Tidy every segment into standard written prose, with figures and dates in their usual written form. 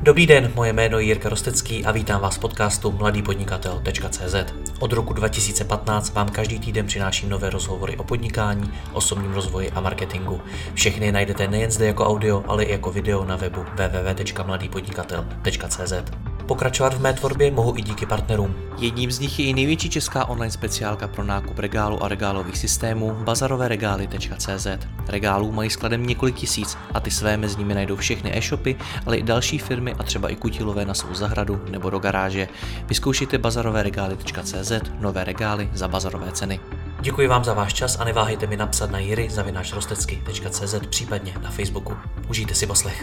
Dobrý den, moje jméno je Jirka Rostecký a vítám vás v podcastu mladýpodnikatel.cz. Od roku 2015 vám každý týden přináším nové rozhovory o podnikání, osobním rozvoji a marketingu. Všechny najdete nejen zde jako audio, ale i jako video na webu www.mladýpodnikatel.cz. Pokračovat v mé tvorbě mohu i díky partnerům. Jedním z nich je i největší česká online speciálka pro nákup regálu a regálových systémů bazaroveregály.cz. Regálů mají skladem několik tisíc a ty své mezi nimi najdou všechny e-shopy, ale i další firmy a třeba i kutilové na svou zahradu nebo do garáže. Vyzkoušejte bazaroveregály.cz, nové regály za bazarové ceny. Děkuji vám za váš čas a neváhejte mi napsat na jiry@rostecky.cz, případně na Facebooku. Užijte si poslech.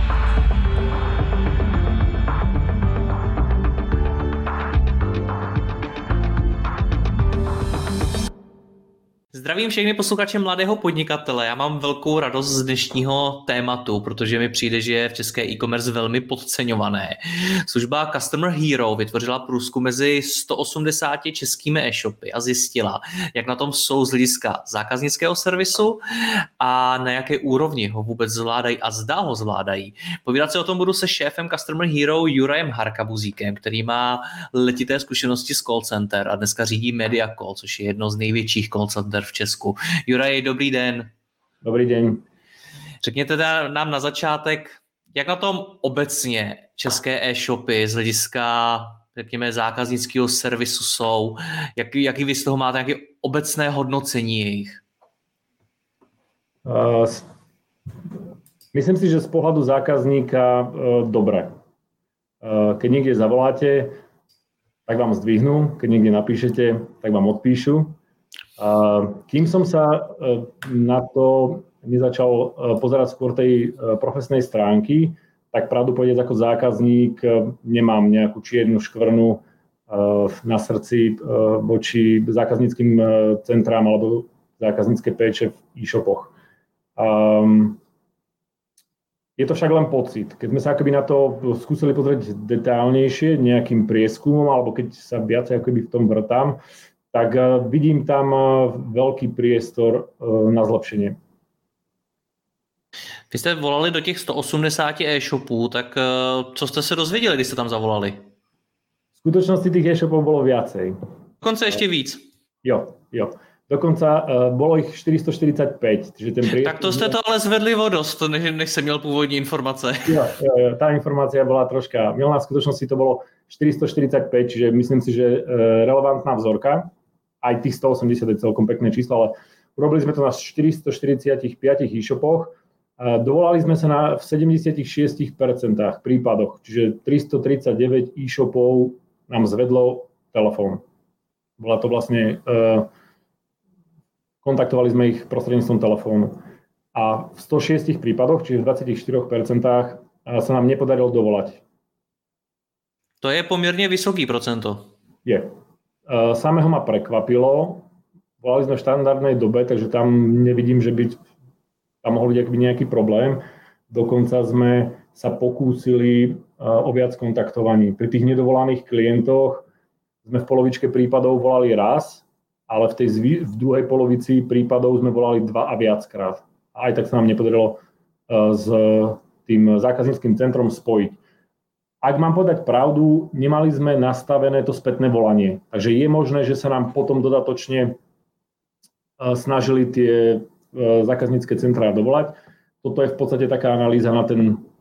Zdravím všechny posluchače Mladého podnikatele. Já mám velkou radost z dnešního tématu, protože mi přijde, že je v české e-commerce velmi podceňované. Služba Customer Hero vytvořila průzkum mezi 180 českými e-shopy a zjistila, jak na tom jsou z hlediska zákaznického servisu a na jaké úrovni ho vůbec zvládají a zda ho zvládají. Povídat se o tom budu se šéfem Customer Hero Jurajem Harkabuzíkem, který má letité zkušenosti z call center a dneska řídí Mediacall, což je jedno z největších call center v Česku. Juraj, dobrý den. Dobrý den. Řekněte nám na začátek, jak na tom obecně české e-shopy z hlediska, řekněme, zákaznického servisu jsou, jaký vy z toho máte, jaké obecné hodnocení jejich? Myslím si, že z pohľadu zákazníka dobre. Keď niekde zavoláte, tak vám zdvihnú, keď niekde napíšete, tak vám odpíšu. Kým som sa na to nezačal pozerať skôr tej profesnej stránky, tak pravdu povedať ako zákazník nemám nejakú čiernu škvrnu na srdci voči zákazníckym centrám alebo zákaznícke péče v e-shopoch. Je to však len pocit. Keď sme sa akoby na to skúsili pozrieť detailnejšie nejakým prieskumom, alebo keď sa viacej akoby v tom vrtám, tak vidím tam veľký priestor na zlepšenie. Vy jste volali do těch 180 e-shopů, tak co jste se dozvěděli, když jste tam zavolali? V skutočnosti tých e-shopov bolo viacej. Dokonce ještě víc. Jo. Dokonca bolo ich 445. Tak to jste to ale zvedli o dost, než jsem měl původní informace. Jo, tá informácia bola troška milná, v skutočnosti to bolo 445, čiže myslím si, že relevantná vzorka. Aj tých 180 je celkom pekné číslo, ale urobili sme to na 445 e-shopoch. Dovolali sme sa v 76% prípadoch, čiže 339 e-shopov nám zvedlo telefón. Bola to vlastne... Kontaktovali sme ich prostredníctvom telefónu. A v 106 prípadoch, čiže v 24%, sa nám nepodarilo dovolať. To je poměrně vysoký procento. Je. Samého ma prekvapilo. Volali sme v štandardnej dobe, takže tam nevidím, že by tam mohol byť nejaký problém. Dokonca sme sa pokúsili o viac kontaktovaní. Pri tých nedovolaných klientoch sme v polovičke prípadov volali raz, ale v druhej polovici prípadov sme volali 2 a viackrát. A aj tak sa nám nepodarilo s tým zákazníckym centrom spojiť. Ak mám povedať pravdu, nemali sme nastavené to spätné volanie. Takže je možné, že sa nám potom dodatočne snažili tie zákaznícke centrá dovolať. Toto je v podstate taká analýza na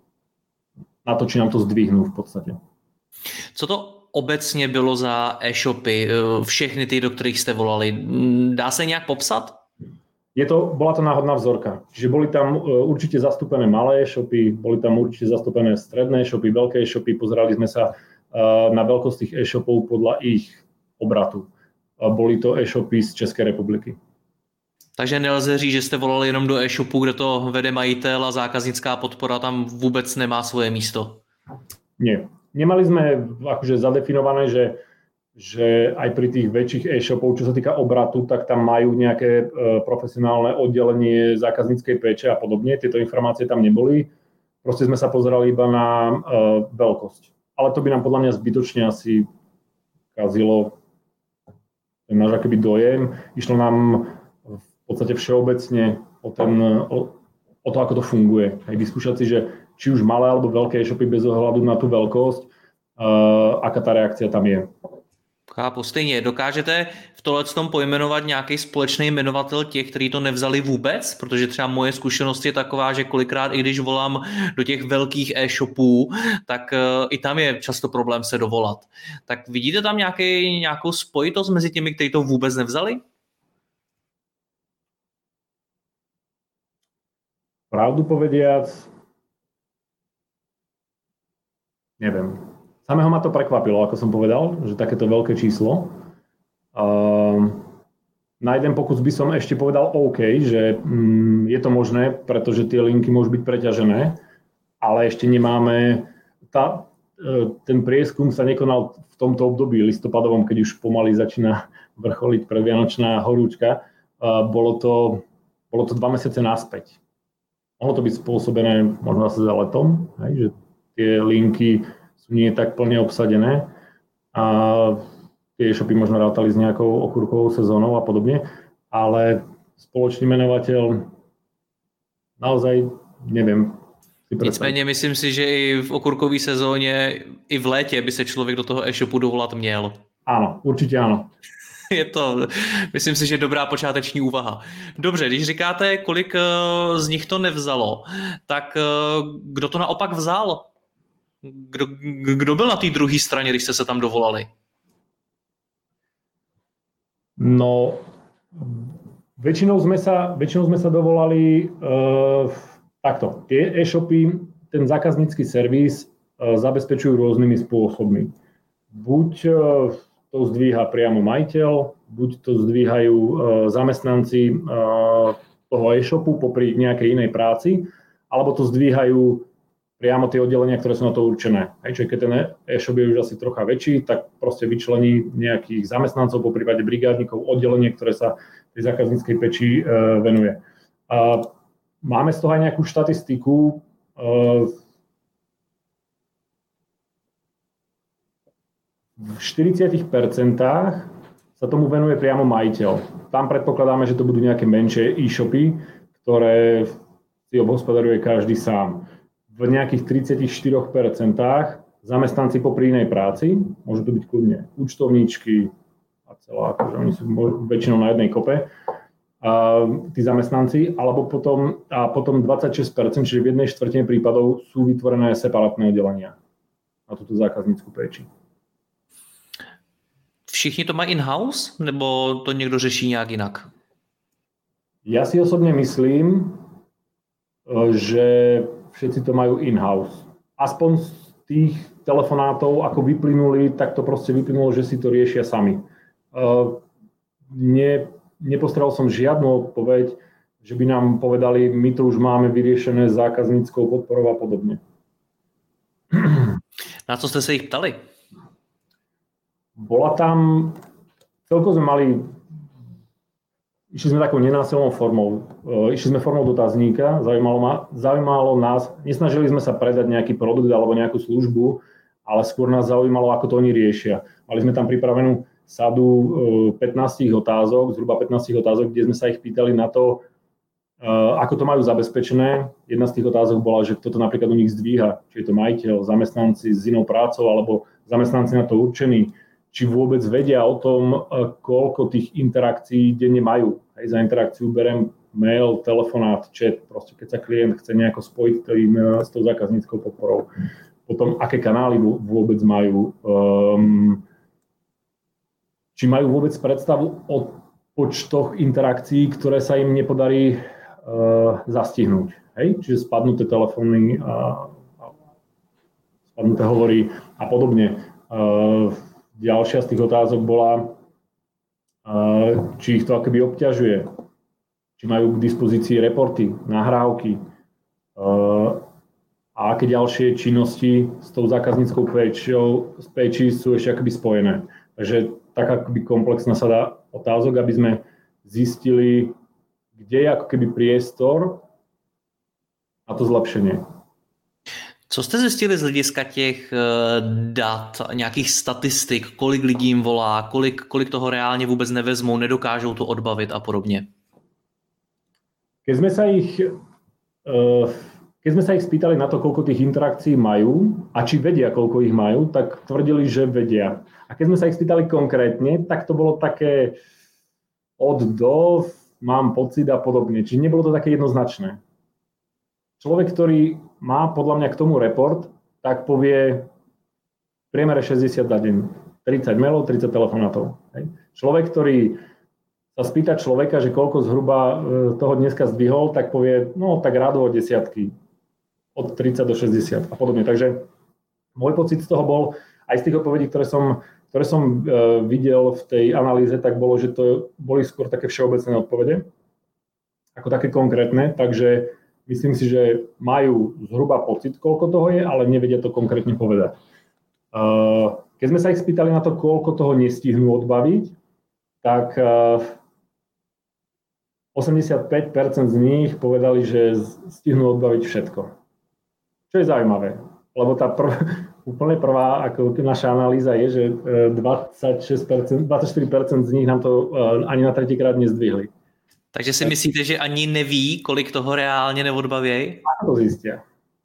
to, či nám to zdvihnú v podstate. Co to obecně bylo za e-shopy, všechny ty, do kterých jste volali? Dá se nějak popsat? Bola to náhodná vzorka. Čiže boli tam určite zastúpené malé e-shopy, boli tam určite zastúpené stredné e-shopy, veľké e-shopy. Pozerali sme sa na veľkosť tých e-shopov podľa ich obratu. Boli to e-shopy z České republiky. Takže nelze říct, že jste volali jenom do e-shopu, kde to vede majitel a zákaznická podpora tam vůbec nemá svoje místo? Nie. Nemali sme akože zadefinované, že aj pri tých väčších e-shopov, čo sa týka obratu, tak tam majú nejaké profesionálne oddelenie zákazníckej péče a podobne. Tieto informácie tam neboli. Proste sme sa pozerali iba na veľkosť. Ale to by nám podľa mňa zbytočne asi kazilo ten náš akoby dojem. Išlo nám v podstate všeobecne o to, ako to funguje. Aj vyskúšať si, že či už malé alebo veľké e-shopy bez ohľadu na tú veľkosť, aká tá reakcia tam je. Chápu, stejně. Dokážete v tohletom pojmenovat nějaký společný jmenovatel těch, kteří to nevzali vůbec? Protože třeba moje zkušenost je taková, že kolikrát, i když volám do těch velkých e-shopů, tak i tam je často problém se dovolat. Tak vidíte tam nějakou spojitost mezi těmi, kteří to vůbec nevzali? Pravdu povediac, neviem. Samého ma to prekvapilo, ako som povedal, že takéto veľké číslo. Na jeden pokus by som ešte povedal OK, že je to možné, pretože tie linky môžu byť preťažené, ale ešte nemáme... Ten prieskum sa nekonal v tomto období listopadovom, keď už pomaly začína vrcholiť predvianočná horúčka. Bolo to 2 mesiace naspäť. Mohlo to byť spôsobené možno zase za letom, že tie linky sú nie tak plne obsadené a tie e-shopy možno rátali s nejakou okurkovou sezónou a podobne, ale spoločný menovateľ naozaj neviem. Nicméně myslím si, že i v okurkové sezóně, i v létě by se člověk do toho e-shopu dovolat měl. Áno, určite áno. Myslím si, že dobrá počáteční úvaha. Dobře, když říkáte, kolik z nich to nevzalo, tak kdo to naopak vzal? Kdo byl na té druhé straně, když jste se tam dovolali? No, väčšinou sme sa dovolali takto. Tie e-shopy, ten zákaznícky servis zabezpečujú rôznymi spôsobmi. Buď to zdvíha priamo majiteľ, buď to zdvíhajú zamestnanci toho e-shopu popri nejakej inej práci, alebo to zdvíhajú priamo tie oddelenia, ktoré sú na to určené. Čiže keď ten e-shop je už asi trocha väčší, tak proste vyčlení nejakých zamestnancov, po prípade brigádnikov, oddelenie, ktoré sa tej zákazníckej peči venuje. Máme z toho aj nejakú štatistiku. V 40% sa tomu venuje priamo majiteľ. Tam predpokladáme, že to budú nejaké menšie e-shopy, ktoré si obhospodaruje každý sám. V nejakých 34% zamestnanci popri inej práci, môžu to byť kľudne účtovníčky a celá, akože oni sú väčšinou na jednej kope, tí zamestnanci, alebo potom 26%, čiže v 1/4 prípadov sú vytvorené separátne oddelenia na túto zákaznícku péči. Všichni to mají in-house, nebo to někdo řeší nějak jinak? Ja si osobne myslím, že všetci to majú in-house. Aspoň z tých telefonátov, ako vyplynuli, tak to proste vyplynulo, že si to riešia sami. Nepostral som žiadnu odpoveď, že by nám povedali, my to už máme vyriešené zákazníckou podporou a podobne. Na co ste sa ich ptali? Bola tam, celkom sme mali, išli sme takou nenásilnou formou. Išli sme formou dotazníka, zaujímalo nás, nesnažili sme sa predať nejaký produkt alebo nejakú službu, ale skôr nás zaujímalo, ako to oni riešia. Mali sme tam pripravenú sadu 15 otázok, zhruba 15 otázok, kde sme sa ich pýtali na to, ako to majú zabezpečené. Jedna z tých otázok bola, že kto to napríklad u nich zdvíha, či je to majiteľ, zamestnanci s inou prácou alebo zamestnanci na to určení, či vôbec vedia o tom, koľko tých interakcií denne majú. Hej, za interakciu berem mail, telefonát, chat, proste keď sa klient chce nejako spojiť s tou zákazníckou podporou. Potom, aké kanály vôbec majú, či majú vôbec predstavu o počtoch interakcií, ktoré sa im nepodarí zastihnúť. Hej? Čiže spadnuté telefóny, spadnuté hovory a podobne. Ďalšia z tých otázok bola, či ich to akoby obťažuje, či majú k dispozícii reporty, nahrávky a aké ďalšie činnosti s tou zákazníckou péči sú ešte akoby spojené. Takže tak akoby komplexná sada otázok, aby sme zistili, kde je ako keby priestor na to zlepšenie. Co jste zjistili z hlediska těch dat, nějakých statistik, kolik lidí jim volá, kolik toho reálně vůbec nevezmou, nedokážou to odbavit a podobně? Keď keď sme sa ich spýtali na to, koľko tých interakcií majú a či vedia, koľko ich majú, tak tvrdili, že vedia. A keď sme sa ich spýtali konkrétne, tak to bolo také od do, mám pocit a podobne. Čiže nebolo to také jednoznačné. Človek, ktorý má podľa mňa k tomu report, tak povie v priemere 60 za deň. 30 mailov, 30 telefonátov. Človek, ktorý sa spýta človeka, že koľko zhruba toho dneska zdvihol, tak povie, no tak rádovo desiatky. Od 30 do 60 a podobne. Takže môj pocit z toho bol, aj z tých odpovedí, ktoré som videl v tej analýze, tak bolo, že to boli skôr také všeobecné odpovede, ako také konkrétne, takže myslím si, že majú zhruba pocit, koľko toho je, ale nevedia to konkrétne povedať. Keď sme sa ich spýtali na to, koľko toho nestihnú odbaviť, tak 85% z nich povedali, že stihnú odbaviť všetko. Čo je zaujímavé, lebo tá úplne prvá ako naša analýza je, že 24% z nich nám to ani na tretíkrát nezdvihli. Takže si myslíte, že ani neví, kolik toho reálne neodbavějí? Ako to zistia?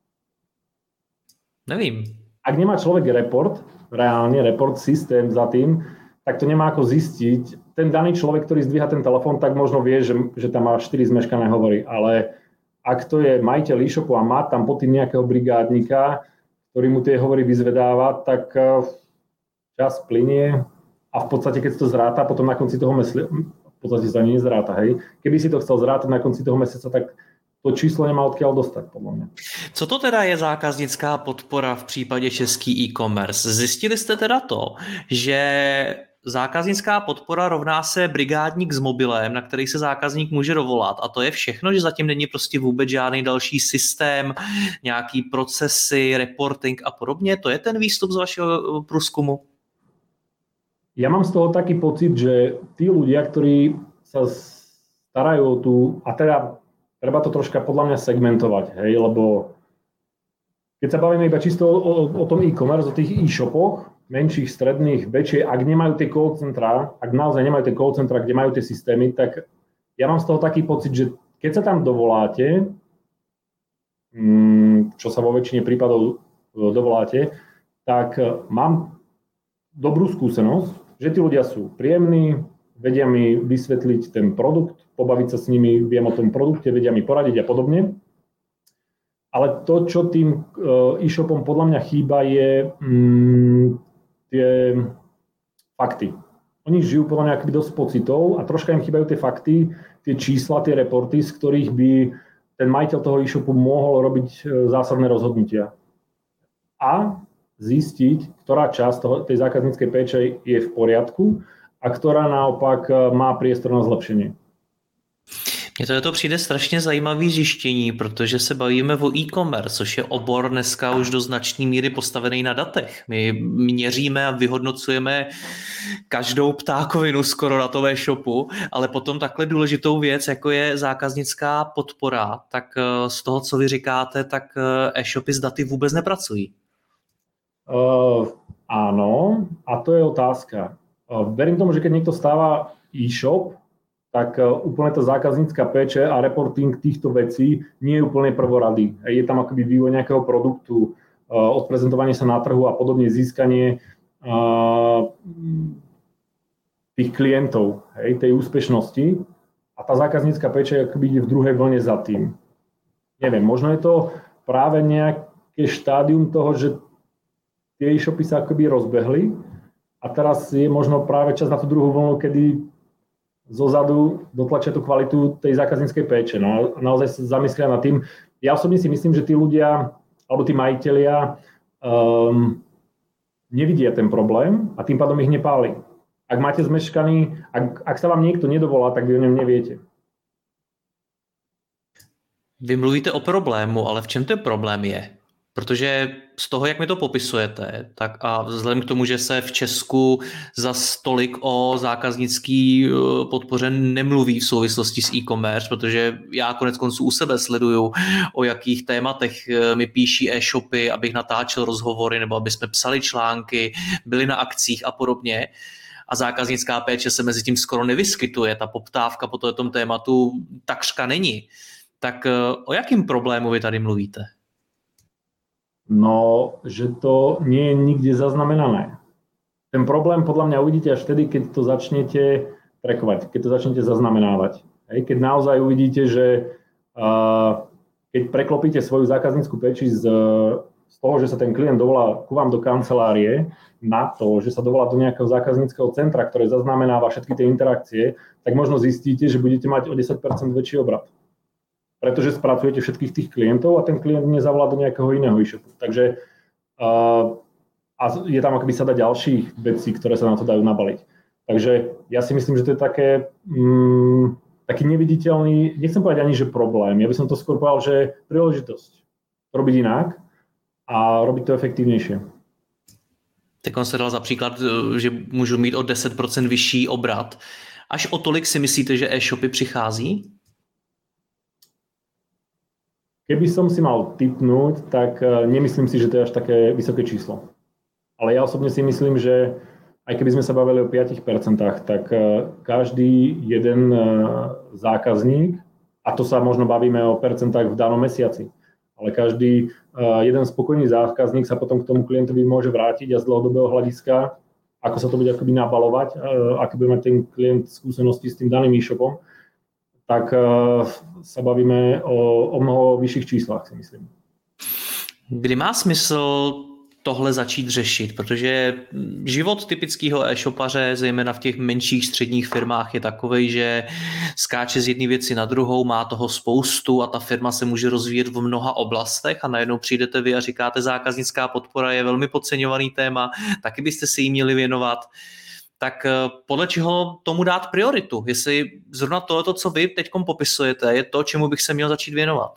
Nevím. Ak nemá človek report systém za tým, tak to nemá ako zistiť. Ten daný človek, ktorý zdvíha ten telefón, tak možno vie, že tam má 4 zmeškané hovory, ale ak to je majiteľ e-shopu a má tam pod tým nejakého brigádnika, ktorý mu tie hovory vyzvedáva, tak čas plynie a v podstate, keď to zráta, potom na konci toho mesiaca, v podstate sa nie zráta, hej. Keby si to chcel zrátať na konci toho mesiaca, tak to číslo nemá odkiaľ dostať, podľa mňa. Co to teda je zákaznická podpora v případě český e-commerce? Zjistili jste teda to, že zákaznická podpora rovná se brigádník s mobilem, na který se zákazník může dovolat. A to je všechno, že zatím není prostě vůbec žádný další systém, nějaký procesy, reporting a podobně. To je ten výstup z vašeho průzkumu? Ja mám z toho taký pocit, že tí ľudia, ktorí sa starajú o tú, a teda treba to troška podľa mňa segmentovať, hej, lebo keď sa bavíme iba čisto o tom e-commerce, o tých e-shopoch, menších, stredných, väčšie, ak nemajú tie call centra, ak naozaj nemajú tie call centra, kde majú tie systémy, tak ja mám z toho taký pocit, že keď sa tam dovoláte, čo sa vo väčšine prípadov dovoláte, tak mám dobrú skúsenosť, že tí ľudia sú príjemní, vedia mi vysvetliť ten produkt, pobaviť sa s nimi, viem o tom produkte, vedia mi poradiť a podobne. Ale to, čo tým e-shopom podľa mňa chýba, je tie fakty. Oni žijú podľa mňa akoby dosť pocitov a troška im chýbajú tie fakty, tie čísla, tie reporty, z ktorých by ten majiteľ toho e-shopu mohol robiť zásadné rozhodnutia. A zistiť, ktorá časť tej zákazníckej péče je v poriadku a ktorá naopak má priestor na zlepšenie. Mně to přijde strašně zajímavý zjištění, protože se bavíme o e-commerce, což je obor dneska už do značné míry postavený na datech. My měříme a vyhodnocujeme každou ptákovinu skoro na tom e-shopu, ale potom takhle důležitou věc, jako je zákaznická podpora, tak z toho, co vy říkáte, tak e-shopy s daty vůbec nepracují. Áno, a to je otázka. Verím tomu, že keď niekto stáva e-shop, tak úplne tá zákaznícka péče a reporting týchto vecí nie je úplne prvorady. Je tam akoby vývoj nejakého produktu, odprezentovanie sa na trhu a podobne získanie tých klientov, tej úspešnosti. A tá zákaznícka péče akoby ide v druhej vlne za tým. Neviem, možno je to práve nejaké štádium toho, že tie e-shopy sa akoby rozbehli a teraz je možno práve čas na tú druhú vlnu, kedy zozadu dotlačia tú kvalitu tej zákazníckej péče. No, naozaj sa zamyslia nad tým. Ja osobne si myslím, že tí ľudia, alebo tí majitelia nevidia ten problém a tým pádom ich nepáli. Ak máte zmeškaný, ak sa vám niekto nedovolá, tak vy o ňom neviete. Vy mluvíte o problému, ale v čem ten problém je? Protože z toho, jak mi to popisujete, tak a vzhledem k tomu, že se v Česku za tolik o zákaznický podpoře nemluví v souvislosti s e-commerce, protože já konec konců u sebe sleduju, o jakých tématech mi píší e-shopy, abych natáčel rozhovory nebo aby jsme psali články, byli na akcích a podobně. A zákaznická péče se mezi tím skoro nevyskytuje. Ta poptávka po tom tématu takřka není. Tak o jakým problému vy tady mluvíte? No, že to nie je nikde zaznamenané. Ten problém podľa mňa uvidíte až vtedy, keď to začnete trackovať, keď to začnete zaznamenávať. Hej, keď naozaj uvidíte, že keď preklopíte svoju zákaznícku péči z toho, že sa ten klient dovolá ku vám do kancelárie, na to, že sa dovolá do nejakého zákazníckeho centra, ktoré zaznamenáva všetky tie interakcie, tak možno zistíte, že budete mať o 10% väčší obrat. Pretože spracujete všetkých tých klientov a ten klient nezavolá do nejakého iného e-shopu. Takže a je tam akoby sada ďalších vecí, ktoré sa na to dajú nabaliť. Takže ja si myslím, že to je taký neviditeľný, nechcem povedať ani, že problém, ja by som to skôr povedal, že príležitosť robiť inak a robiť to efektívnejšie. Tak on se dal za příklad, že můžu mít o 10% vyšší obrat. Až o tolik si myslíte, že e-shopy přichází? Keby som si mal tipnúť, tak nemyslím si, že to je až také vysoké číslo. Ale ja osobne si myslím, že aj keby sme sa bavili o 5%, tak každý jeden zákazník, a to sa možno bavíme o percentách v danom mesiaci, ale každý jeden spokojný zákazník sa potom k tomu klientovi môže vrátiť a z dlhodobého hľadiska, ako sa to bude akoby nabalovať, aký bude mať ten klient skúsenosti s tým daným e-shopom, tak sa bavíme o mnoho vyšších číslach, si myslím. Kdy má smysl tohle začít řešit, protože život typického e-shopaře, zejména v těch menších středních firmách, je takovej, že skáče z jedné věci na druhou, má toho spoustu a ta firma se může rozvíjet v mnoha oblastech a najednou přijdete vy a říkáte, zákaznická podpora je velmi podceňovaný téma, taky byste si jí měli věnovat. Tak podle čeho tomu dát prioritu? Jestli zrovna tohleto, co vy teďkom popisujete, je to, čemu bych se měl začít věnovat?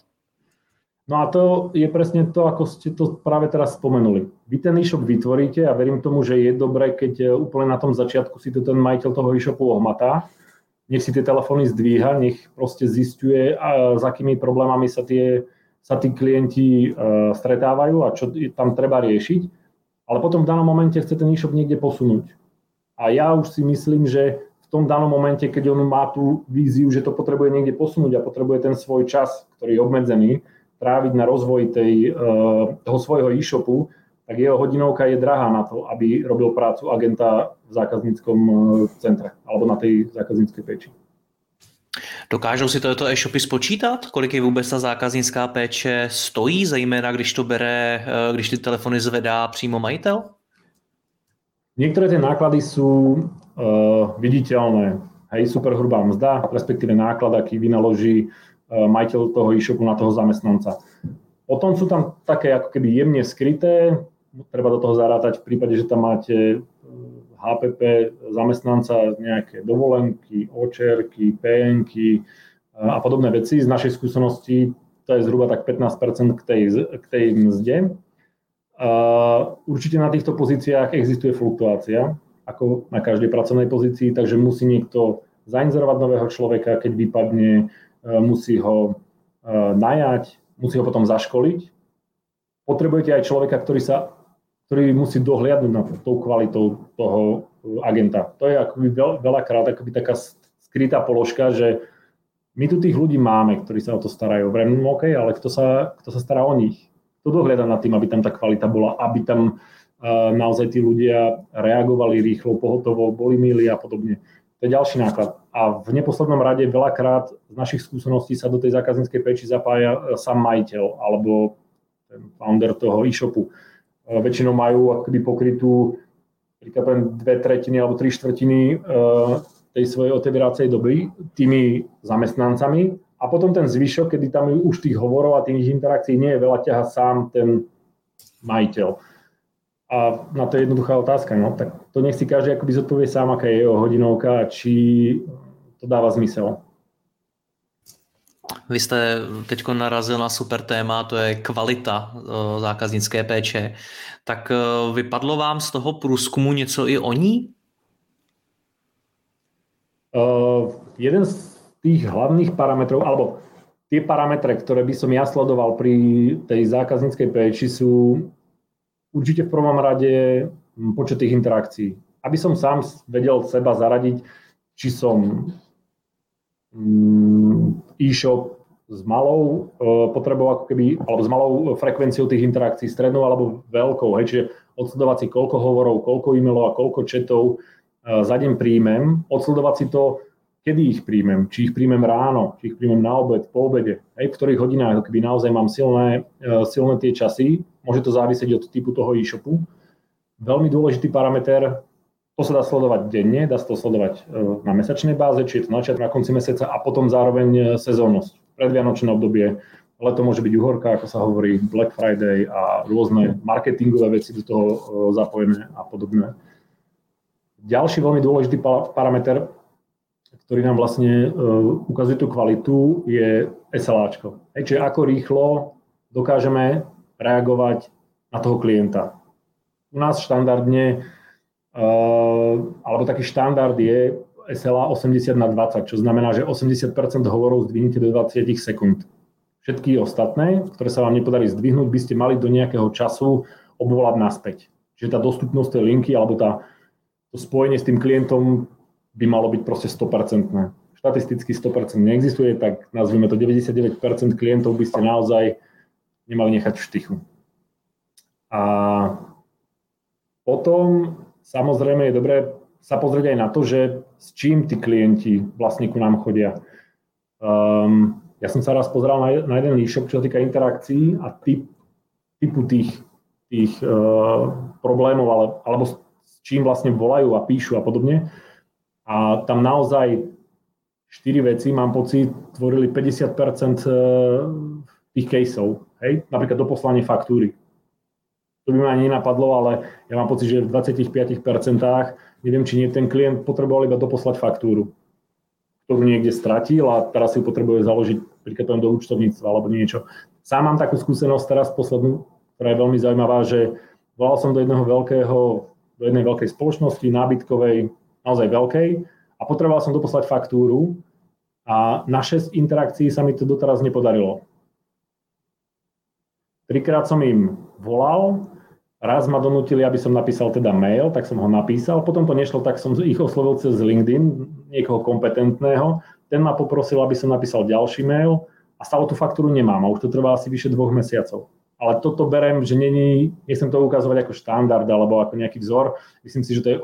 No a to je presne to, ako ste to práve teraz spomenuli. Vy ten e-shop vytvoríte a verím tomu, že je dobré, keď úplne na tom začiatku si to ten majiteľ toho e-shopu ohmatá, nech si tie telefóny zdvíha, nech proste zisťuje, s akými problémami sa tí klienti stretávajú a čo tam treba riešiť, ale potom v danom momente chce ten e-shop niekde posunúť. A ja už si myslím, že v tom danom momente, keď on má tú víziu, že to potrebuje niekde posunúť a potrebuje ten svoj čas, ktorý je obmedzený, tráviť na rozvoj toho svojho e-shopu, tak jeho hodinovka je drahá na to, aby robil prácu agenta v zákazníckom centre alebo na tej zákazníckej péči. Dokážou si tohoto e-shopy spočítat? Kolik je vůbec ta zákaznická péče stojí, zejména když ty telefony zvedá přímo majitel? Niektoré tie náklady sú viditeľné. Hej, superhrubá mzda, respektíve náklad, aký vynaloží majiteľ toho e-shopu na toho zamestnanca. Potom sú tam také ako keby jemne skryté, treba do toho zarátať v prípade, že tam máte HPP zamestnanca, nejaké dovolenky, očerky, PN-ky a podobné veci. Z našej skúsenosti to je zhruba tak 15% k tej mzde. Určite na týchto pozíciách existuje fluktuácia, ako na každej pracovnej pozícii, takže musí niekto zainzerovať nového človeka, keď vypadne, musí ho najať, musí ho potom zaškoliť. Potrebujete aj človeka, ktorý musí dohliadnúť na tou kvalitou toho agenta. To je akoby veľakrát akoby taká skrytá položka, že my tu tých ľudí máme, ktorí sa o to starajú. Vrem, OK, ale kto sa stará o nich? Kto dohliada nad tým, aby tam tá kvalita bola, aby tam naozaj tí ľudia reagovali rýchlo, pohotovo, boli milí a podobne. To je ďalší náklad. A v neposlednom rade veľakrát z našich skúseností sa do tej zákazníckej péči zapája sám majiteľ alebo ten founder toho e-shopu. Väčšinou majú akoby pokrytú príklad 2/3 alebo 3/4 tej svojej otevíracej doby tými zamestnancami a potom ten zvyšok, kedy tam už tých hovorov a tých interakcií nie je veľa, ťaha sám ten majiteľ. A na to je jednoduchá otázka, no tak to nech si každý akoby zodpovie sám, aká je jeho hodinovka a či to dáva zmysel. Vy jste teď narazil na super téma, to je kvalita zákaznické péče. Tak vypadlo vám z toho průzkumu něco i o ní? Jeden z tých hlavných parametrov, alebo tie parametre, ktoré by som ja sledoval pri tej zákazníckej péči, sú určite v prvom rade počet tých interakcií. Aby som sám vedel seba zaradiť, či som e-shop s malou potrebou ako keby, alebo s malou frekvenciou tých interakcií, strednou alebo veľkou, hej, čiže odsledovať si koľko hovorov, koľko e-mailov a koľko chatov za deň príjmem, odsledovať si to, kedy ich príjmem, či ich príjmem ráno, či ich príjmem na obed, po obede, hej, v ktorých hodinách, keby naozaj mám silné tie časy, môže to závisieť od typu toho e-shopu. Veľmi dôležitý parameter, to sa dá sledovať denne, dá sa to sledovať na mesačnej báze, či je to na začiatku, na konci mesiaca a potom zároveň sezónnosť. Predvianočné obdobie, leto môže byť uhorka, ako sa hovorí, Black Friday a rôzne marketingové veci do toho zapojené a podobné. Ďalší veľmi dôležitý parameter, ktorý nám vlastne ukazuje tú kvalitu, je SLAčko. Čiže ako rýchlo dokážeme reagovať na toho klienta. U nás štandardne alebo taký štandard je SLA 80/20, čo znamená, že 80% hovorov zdvihnete do 20 sekúnd. Všetky ostatné, ktoré sa vám nepodarí zdvihnúť, by ste mali do nejakého času obvolať naspäť. Čiže tá dostupnosť tej linky alebo to spojenie s tým klientom by malo byť proste 100%. Štatisticky 100% neexistuje, tak nazvime to 99% klientov by ste naozaj nemali nechať v štychu. A potom samozrejme je dobré sa pozrieť aj na to, že s čím tí klienti vlastne ku nám chodia. Ja som sa raz pozeral na jeden e-shop, čo sa týka interakcií a typu tých problémov, alebo s čím vlastne volajú a píšu a podobne. A tam naozaj 4 veci, mám pocit, tvorili 50% tých caseov. Hej? Napríklad doposlanie faktúry. To by ma ani nenapadlo, ale ja mám pocit, že v 25%, neviem, či nie, ten klient potreboval iba doposlať faktúru, ktorú niekde stratil a teraz si ju potrebuje založiť príkladom do účtovníctva alebo niečo. Sám mám takú skúsenosť teraz poslednú, ktorá je veľmi zaujímavá, že volal som do jednej veľkej spoločnosti, nábytkovej, naozaj veľkej, a potreboval som doposlať faktúru a na 6 interakcií sa mi to doteraz nepodarilo. 3-krát som im volal, raz ma donútili, aby som napísal teda mail, tak som ho napísal, potom to nešlo, tak som ich oslovil cez LinkedIn, niekoho kompetentného, ten ma poprosil, aby som napísal ďalší mail a stále tú faktúru nemám a už to trvá asi vyše 2 mesiacov. Ale toto berem, že nechcem to ukazovať ako štandard alebo ako nejaký vzor, myslím si, že to je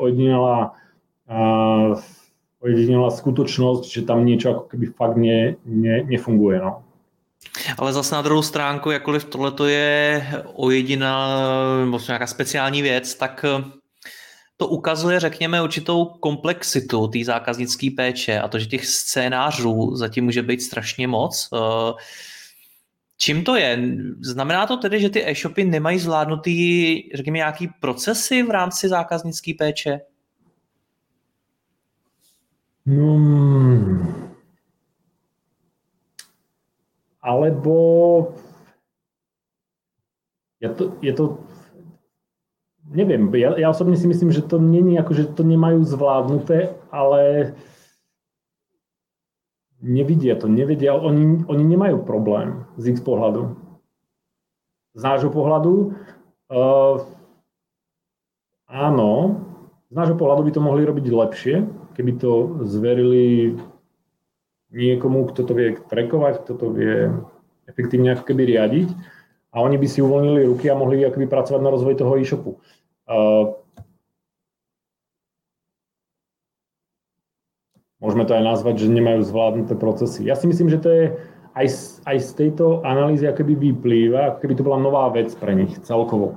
ojedinelá skutočnosť, že tam niečo ako keby fakt nefunguje. No. Ale zase na druhou stránku, jakkoliv tohleto je nebo nějaká speciální věc, tak to ukazuje, řekněme, určitou komplexitu té zákaznické péče a to, že těch scénářů zatím může být strašně moc. Čím to je? Znamená to tedy, že ty e-shopy nemají zvládnutý, řekněme, nějaký procesy v rámci zákaznické péče? Alebo je to neviem, ja osobne si myslím, že to není ako, že to nemajú zvládnuté, ale nevedia, oni nemajú problém z ich pohľadu. Z nášho pohľadu áno, z nášho pohľadu by to mohli robiť lepšie, keby to zverili niekomu, kto to vie trackovať, kto to vie efektívne ako keby riadiť a oni by si uvoľnili ruky a mohli akoby pracovať na rozvoji toho e-shopu. Môžeme to aj nazvať, že nemajú zvládnuté procesy. Ja si myslím, že to je aj z tejto analýzy akoby vyplýva, ako keby to bola nová vec pre nich celkovo.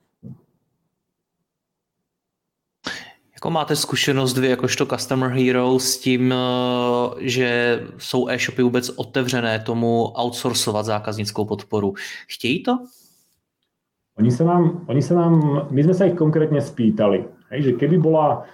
Jako máte zkušenost vy jakožto Customer Hero s tím, že jsou e-shopy vůbec otevřené tomu outsourcovat zákaznickou podporu? Chtějí to? My sme sa ich konkrétne spýtali, že keby bola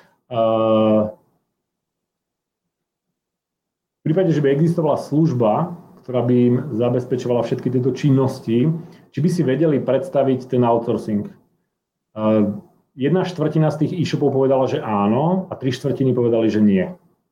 v prípade, že by existovala služba, ktorá by im zabezpečovala všetky tieto činnosti, či by si vedeli predstaviť ten outsourcing. 1/4 z tých e-shopov povedala, že áno a 3/4 povedali, že nie.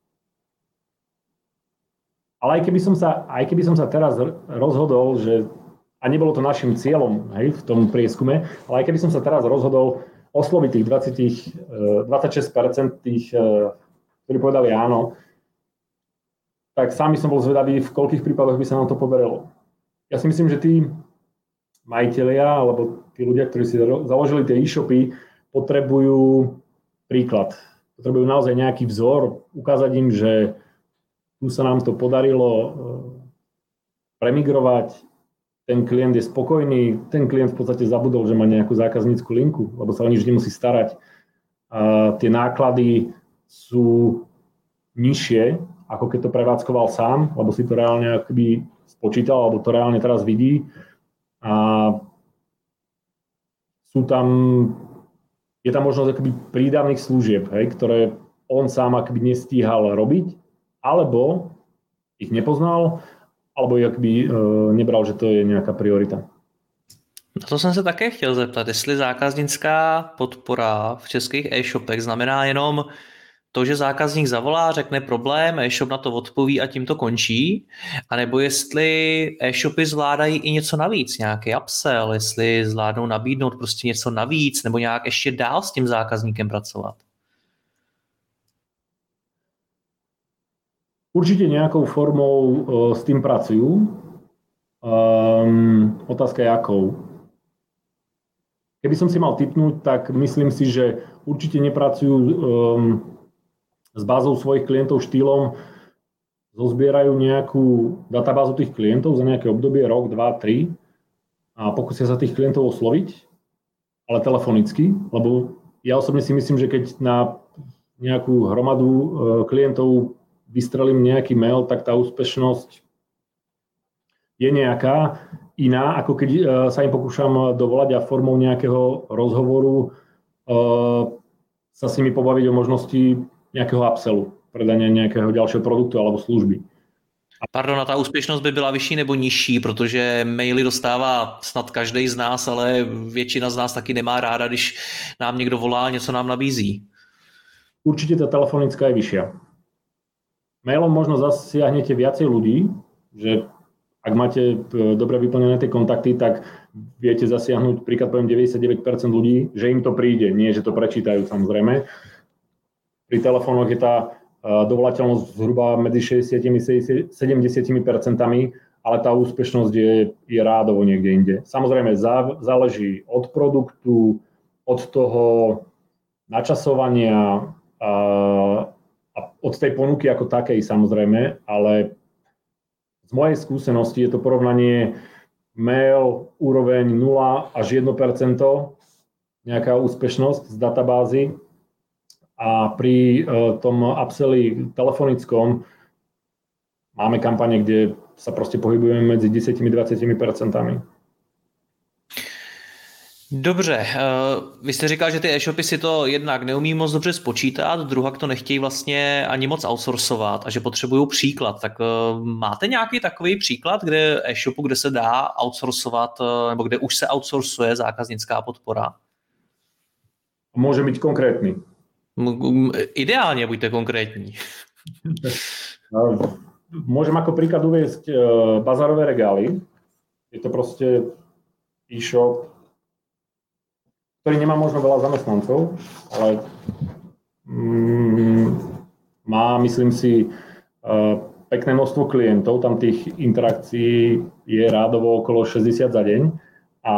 Ale aj keby som sa teraz rozhodol, že, a nebolo to našim cieľom, hej, v tom prieskume, ale aj keby som sa teraz rozhodol osloviť tých 26% tých, ktorí povedali áno, tak sami som bol zvedavý, v koľkých prípadoch by sa nám to podarilo. Ja si myslím, že tí majitelia alebo tí ľudia, ktorí si založili tie e-shopy, potrebujú príklad. Potrebujú naozaj nejaký vzor, ukázať im, že tu sa nám to podarilo premigrovať, ten klient je spokojný, ten klient v podstate zabudol, že má nejakú zákaznícku linku, lebo sa o nič nemusí starať. A tie náklady sú nižšie, ako keď to prevádzkoval sám, lebo si to reálne akoby spočítal, alebo to reálne teraz vidí. A je tam možnosť akoby prídavných služieb, hej, ktoré on sám akoby nestíhal robiť, alebo ich nepoznal, alebo ich akoby nebral, že to je nejaká priorita. Na to jsem se také chtěl zeptat, jestli zákaznická podpora v českých e-shopech znamená jenom to, že zákazník zavolá, řekne problém, e-shop na to odpoví a tím to končí, anebo jestli e-shopy zvládají i něco navíc, nějaký upsell, jestli zvládnou nabídnout prostě něco navíc, nebo nějak ještě dál s tím zákazníkem pracovat. Určite nejakou formou s tým pracujú. Otázka je akou. Keby som si mal tipnúť, tak myslím si, že určite nepracujú s bázou svojich klientov štýlom, zozbierajú nejakú databázu tých klientov za nejaké obdobie, rok, 2, 3 a pokúsia sa tých klientov osloviť, ale telefonicky, lebo ja osobne si myslím, že keď na nejakú hromadu klientov vystrelím nejaký mail, tak tá úspešnosť je nejaká iná, ako keď sa im pokúšam dovolať a formou nejakého rozhovoru sa s nimi pobaviť o možnosti nejakého upsellu, predania nejakého ďalšieho produktu alebo služby. Pardon, a ta úspěšnost by byla vyšší nebo nižší, protože maily dostává snad každý z nás, ale většina z nás taky nemá ráda, když nám někdo volá, něco nám nabízí. Určite tá telefonická je vyššia. Mailom možno zasiahnete viacej ľudí, že ak máte dobre vyplnené tie kontakty, tak viete zasiahnuť, príklad poviem 99% ľudí, že im to príde, nie že to prečítajú samozrejme. Pri telefónoch je tá dovolateľnosť zhruba medzi 60 a 70%, ale tá úspešnosť je rádovo niekde inde. Samozrejme záleží od produktu, od toho načasovania a od tej ponuky ako takej samozrejme, ale z mojej skúsenosti je to porovnanie mail úroveň 0 až 1%, nejaká úspešnosť z databázy a pri tom upselli telefonickom máme kampane, kde sa proste pohybujeme medzi 10-20%. Dobře, vy jste říkal, že ty e-shopy si to jednak neumí moc dobře spočítat, druhak to nechtějí vlastně ani moc outsourcovat a že potřebují příklad. Tak máte nějaký takový příklad, kde e-shopu, kde se dá outsourcovat, nebo kde už se outsourcuje zákaznická podpora? Môže byť konkrétny. Ideálně buďte konkrétní. Môžem ako príklad uviesť bazarové regály. Je to proste e-shop, ktorý nemá možno veľa zamestnancov, ale má, myslím si, pekné množstvo klientov, tam tých interakcií je rádovo okolo 60 za deň a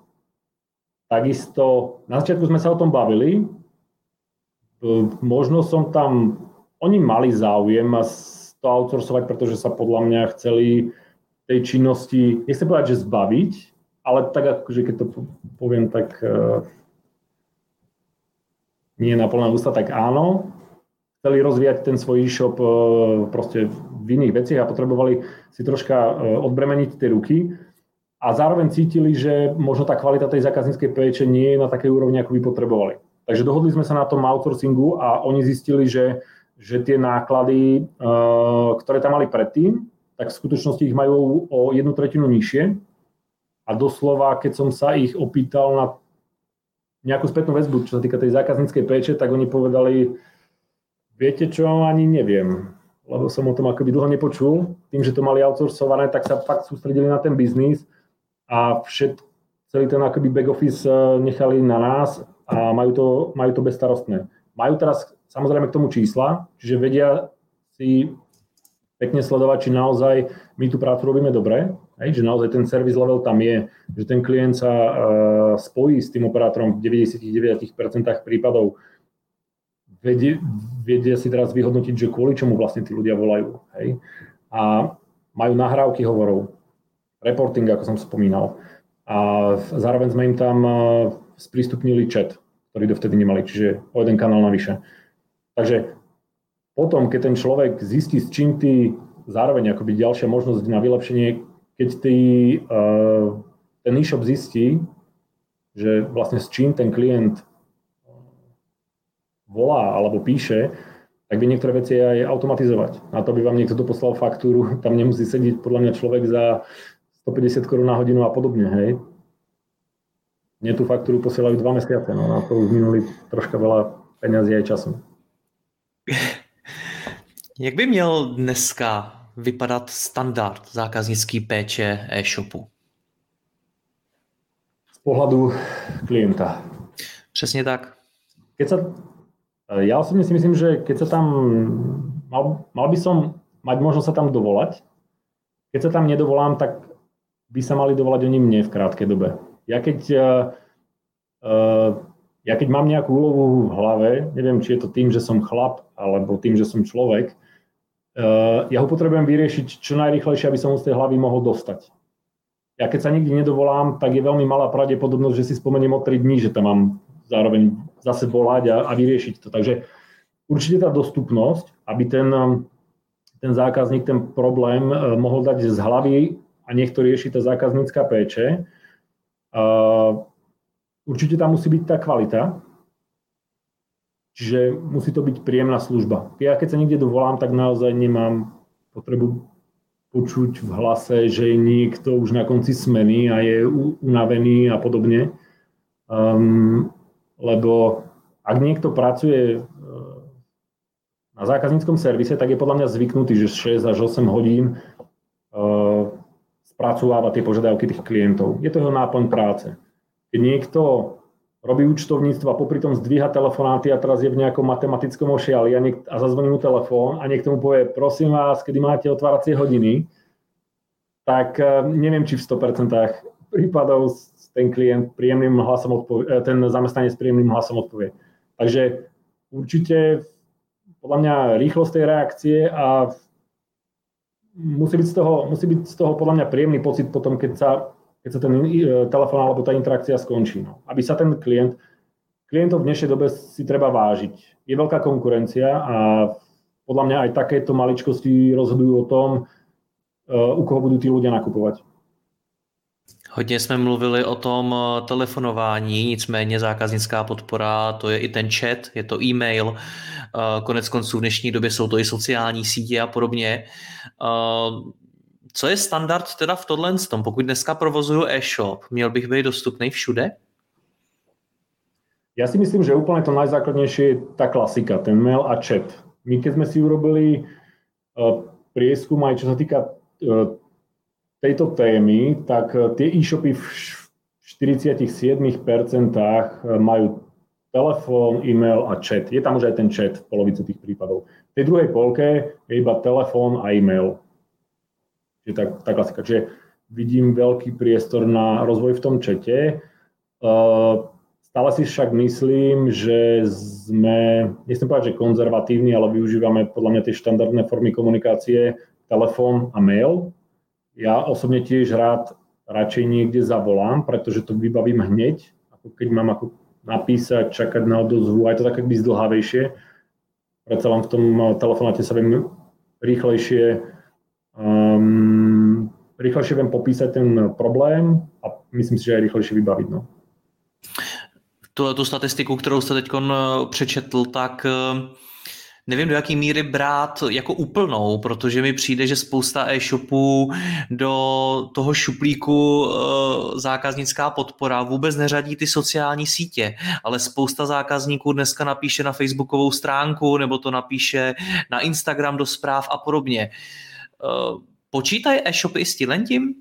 takisto, na začiatku sme sa o tom bavili, možno som tam, oni mali záujem to outsourcovať, pretože sa podľa mňa chceli tej činnosti, nechcem povedať, že zbaviť, ale tak akože keď to poviem, tak nie na plné ústa, tak áno. Chceli rozvíjať ten svoj e-shop proste v iných veciach a potrebovali si troška odbremeniť tie ruky a zároveň cítili, že možno tá kvalita tej zákazníckej péče nie je na takej úrovni, ako by potrebovali. Takže dohodli sme sa na tom outsourcingu a oni zistili, že tie náklady, ktoré tam mali predtým, tak v skutočnosti ich majú o 1/3 nižšie. A doslova, keď som sa ich opýtal na nejakú spätnú väzbu, čo sa týka tej zákazníckej péče, tak oni povedali, viete čo, ani neviem, lebo som o tom akoby dlho nepočul. Tým, že to mali outsourcované, tak sa fakt sústredili na ten biznis a celý ten akoby back office nechali na nás a majú to bezstarostné. Majú teraz samozrejme k tomu čísla, čiže vedia si pekne sledovať, či naozaj my tú prácu robíme dobre, že naozaj ten service level tam je, že ten klient sa spojí s tým operátorom v 99% prípadov. Vedia si teraz vyhodnotiť, že kvôli čomu vlastne tí ľudia volajú. Hej? A majú nahrávky hovorov, reporting, ako som spomínal. A zároveň sme im tam sprístupnili chat, ktorý dovtedy nemali, čiže o jeden kanál navyše. Takže potom, keď ten človek zistí, s čím ty zároveň akoby ďalšia možnosť na vylepšenie, keď ten e-shop zistí, že vlastne s čím ten klient volá alebo píše, tak by niektoré veci aj automatizovať. Na to by vám niekto poslal faktúru, tam nemusí sedieť podľa mňa človek za 150 korún na hodinu a podobne, hej. Mne tú faktúru posielajú 2 mesiace, no na to už minuli troška veľa peňazí aj času. Jak by měl dneska vypadat standard zákaznické péče e-shopu? Z pohľadu klienta. Přesně tak. Ja osobne si myslím, že keď sa tam, mal by som mať možnosť sa tam dovolať. Keď sa tam nedovolám, tak by sa mali dovolať oni mne v krátkej dobe. Ja keď mám nejakú úlohu v hlave, neviem, či je to tým, že som chlap, alebo tým, že som človek, ja ho potrebujem vyriešiť čo najrýchlejšie, aby som ho z tej hlavy mohol dostať. Ja keď sa nikdy nedovolám, tak je veľmi malá pravdepodobnosť, že si spomeniem o 3 dní, že tam mám zároveň zase volať a vyriešiť to. Takže určite tá dostupnosť, aby ten zákazník ten problém mohol dať z hlavy a nech to rieši tá zákaznícka péče. Určite tam musí byť tá kvalita, čiže musí to byť príjemná služba. Ja keď sa niekde dovolám, tak naozaj nemám potrebu počuť v hlase, že je niekto už na konci smeny a je unavený a podobne. Lebo ak niekto pracuje na zákazníckom servise, tak je podľa mňa zvyknutý, že 6 až 8 hodín spracováva tie požiadavky tých klientov. Je to jeho náplň práce. Keď niekto robí účtovníctvo a popri tom zdvíha telefonáty a teraz je v nejakom matematickom ošiali a zazvoní mu telefón a niekto mu povie, prosím vás, kedy máte otváracie hodiny, tak neviem, či v 100% prípadov ten klient príjemným hlasom ten zamestnanec s príjemným hlasom odpovie. Takže určite podľa mňa rýchlosť tej reakcie a musí byť z toho podľa mňa príjemný pocit potom, keď sa ten telefón alebo tá interakcia skončí. No. Aby sa ten klientov v dnešnej dobe si treba vážiť. Je veľká konkurencia a podľa mňa aj takéto maličkosti rozhodujú o tom, u koho budú tí ľudia nakupovať. Hodně jsme mluvili o tom telefonování, nicméně zákaznická podpora, to je i ten chat, je to e-mail, konec konců v dnešní době jsou to i sociální sítě a podobně. Co je standard teda v tohle tom? Pokud dneska provozuju e-shop, měl bych být dostupný všude? Ja si myslím, že úplne to najzákladnejšie je tá klasika, ten mail a chat. My keď sme si urobili prieskum aj čo sa týka tejto témy, tak tie e-shopy v 47% majú telefón, e-mail a chat. Je tam už aj ten chat v polovici tých prípadov. V tej druhej polke je iba telefón a e-mail. Čiže tá klasika. Čiže vidím veľký priestor na rozvoj v tom chate. Stále si však myslím, že sme, nechcem povedať, že konzervatívni, ale využívame podľa mňa tie štandardné formy komunikácie, telefón a mail. Ja osobne tiež radšej niekde zavolám, pretože to vybavím hneď, ako keď mám ako napísať, čakať na odozvu, aj to tak by zdlhavejšie. Predsa len v tom telefonáte sa viem rýchlejšie viem popísať ten problém a myslím si, že aj rýchlejšie vybaviť. No. Tu statistiku, kterou jste teď přečetl, tak nevím, do jaký míry brát jako úplnou, protože mi přijde, že spousta e-shopů do toho šuplíku zákaznická podpora vůbec neřadí ty sociální sítě, ale spousta zákazníků dneska napíše na facebookovou stránku nebo to napíše na Instagram do zpráv a podobně. Počítají e-shopy s tím?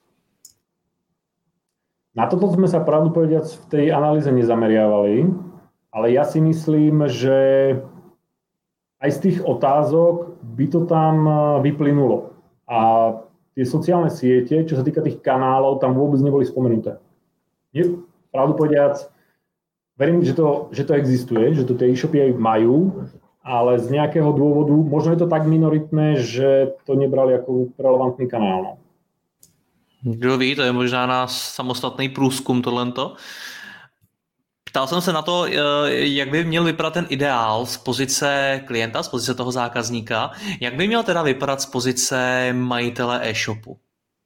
Na toto sme sa pravdu povediac v tej analýze nezameriavali, ale ja si myslím, že aj z tých otázok by to tam vyplynulo. A tie sociálne siete, čo sa týka tých kanálov, tam vôbec neboli spomenuté. Pravdu povediac, verím, že to existuje, že to tie e-shopy aj majú, ale z nejakého dôvodu, možno je to tak minoritné, že to nebrali ako relevantný kanál. No. Kdo ví, to je možná na samostatný průzkum tohleto. Ptal jsem se na to, jak by měl vypadat ten ideál z pozice klienta, z pozice toho zákazníka. Jak by měl teda vypadat z pozice majitele e-shopu?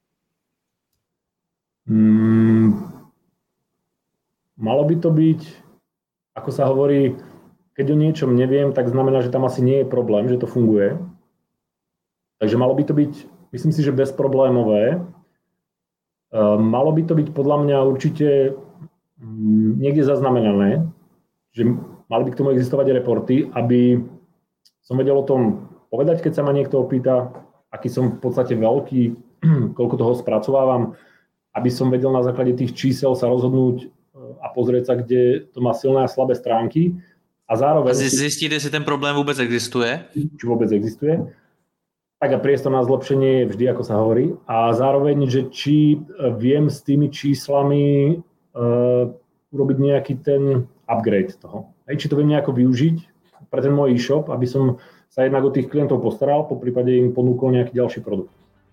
Malo by to byť, ako sa hovorí, keď o niečom neviem, tak znamená, že tam asi nie je problém, že to funguje. Takže malo by to byť, myslím si, že bezproblémové. Malo by to byť podľa mňa určite niekde zaznamenané, že mali by k tomu existovať reporty, aby som vedel o tom povedať, keď sa ma niekto opýta, aký som v podstate veľký, koľko toho spracovávam, aby som vedel na základe tých čísel sa rozhodnúť a pozrieť sa, kde to má silné a slabé stránky. A zároveň... Zistíte, jestli ten problém vôbec existuje? Či vôbec existuje. Tak a priestor na zlepšenie je vždy, ako sa hovorí. A zároveň, že či viem s tými číslami urobiť nejaký ten upgrade toho. Či to viem nejako využiť pre ten môj e-shop, aby som sa jednak o tých klientov postaral, poprípade im ponúkol nejaký ďalší produkt.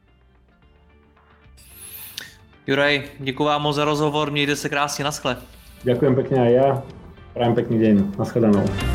Juraj, děkuji vám moc za rozhovor, mějte se krásně, naschle. Ďakujem pekne aj ja, prajem pekný deň, nashledanou.